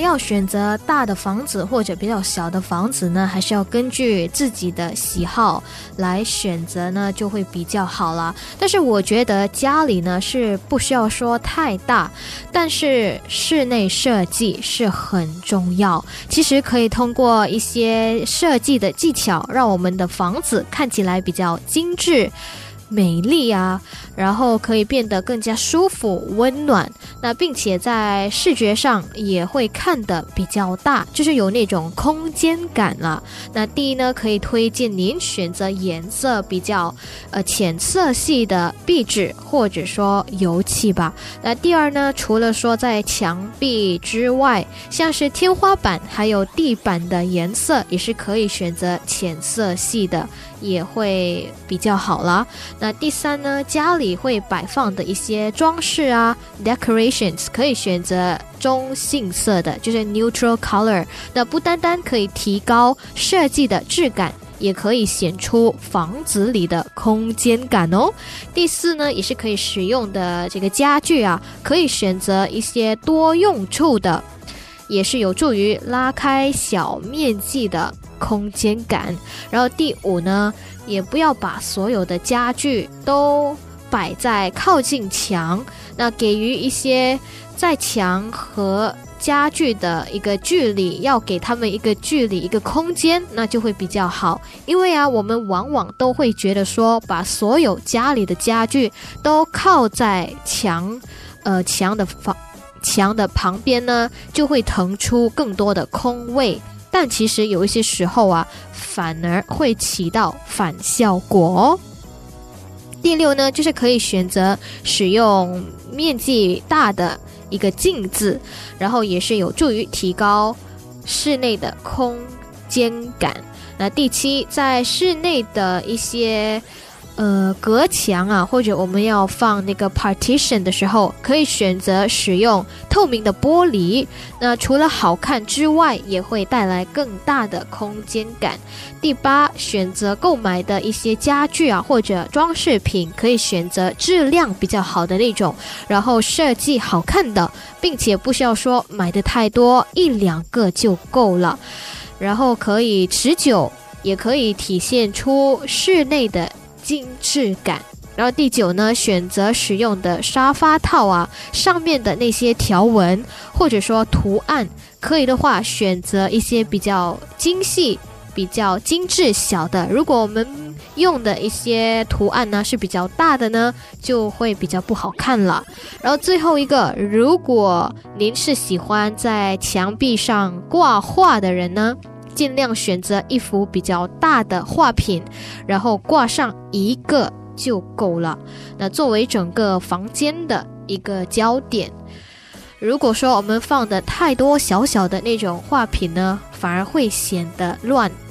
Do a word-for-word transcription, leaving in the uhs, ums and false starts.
要选择大的房子或者比较小的房子呢，还是要根据自己的喜好来选择呢，就会比较好啦。但是我觉得家里呢是不需要说太大，但是室内设计是很重要。其实可以通过一些设计的技巧，让我们的房子看起来比较精致美丽啊，然后可以变得更加舒服温暖，那并且在视觉上也会看得比较大，就是有那种空间感了。那第一呢，可以推荐您选择颜色比较呃浅色系的壁纸或者说油漆吧。那第二呢，除了说在墙壁之外，像是天花板还有地板的颜色也是可以选择浅色系的，也会比较好啦。那第三呢，家里会摆放的一些装饰啊 decorations 可以选择中性色的，就是 neutral color。 那不单单可以提高设计的质感，也可以显出房子里的空间感哦。第四呢，也是可以使用的这个家具啊，可以选择一些多用处的，也是有助于拉开小面积的空间感。然后第五呢，也不要把所有的家具都摆在靠近墙，那给予一些在墙和家具的一个距离，要给他们一个距离一个空间，那就会比较好。因为啊，我们往往都会觉得说把所有家里的家具都靠在墙呃墙的房墙的旁边呢，就会腾出更多的空位，但其实有一些时候啊，反而会起到反效果哦。第六呢，就是可以选择使用面积大的一个镜子，然后也是有助于提高室内的空间感。那第七，在室内的一些呃，隔墙啊，或者我们要放那个 partition 的时候，可以选择使用透明的玻璃。那除了好看之外，也会带来更大的空间感。第八，选择购买的一些家具啊，或者装饰品，可以选择质量比较好的那种，然后设计好看的，并且不需要说买的太多，一两个就够了。然后可以持久，也可以体现出室内的精致感。然后第九呢，选择使用的沙发套啊，上面的那些条纹或者说图案，可以的话选择一些比较精细比较精致小的，如果我们用的一些图案呢是比较大的呢，就会比较不好看了。然后最后一个，如果您是喜欢在墙壁上挂画的人呢，尽量选择一幅比较大的画品，然后挂上一个就够了，那作为整个房间的一个焦点。如果说我们放的太多小小的那种画品呢，反而会显得乱，